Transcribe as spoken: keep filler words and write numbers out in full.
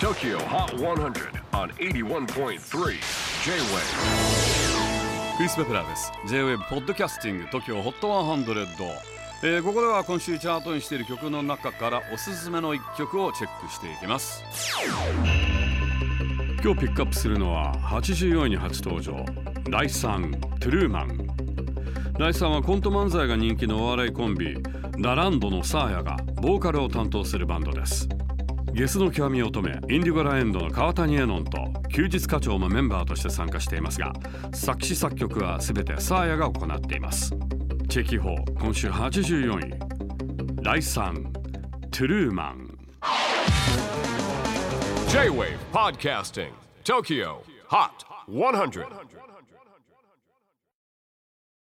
Tokyo Hot one hundred on エイティワンポイントスリー J-Wave。 クリス・ペプラーです。 J-Wave ポッドキャスティング TOKYO ホットひゃく、えー、ここでは今週チャートにしている曲の中からおすすめのいっきょくをチェックしていきます。今日ピックアップするのははちじゅうよんいに初登場、ライさん、トゥルーマン。ライさんはコント漫才が人気のお笑いコンビラランドのサーヤがボーカルを担当するバンドです。ゲスの極み乙女インディゴラエンドの川谷絵音と休日課長もメンバーとして参加していますが、作詞作曲はすべてサーヤが行っています。チェキホー今週はちじゅうよんい、ライさん、トゥルーマン。 J-Wave Podcasting Tokyo Hot ひゃく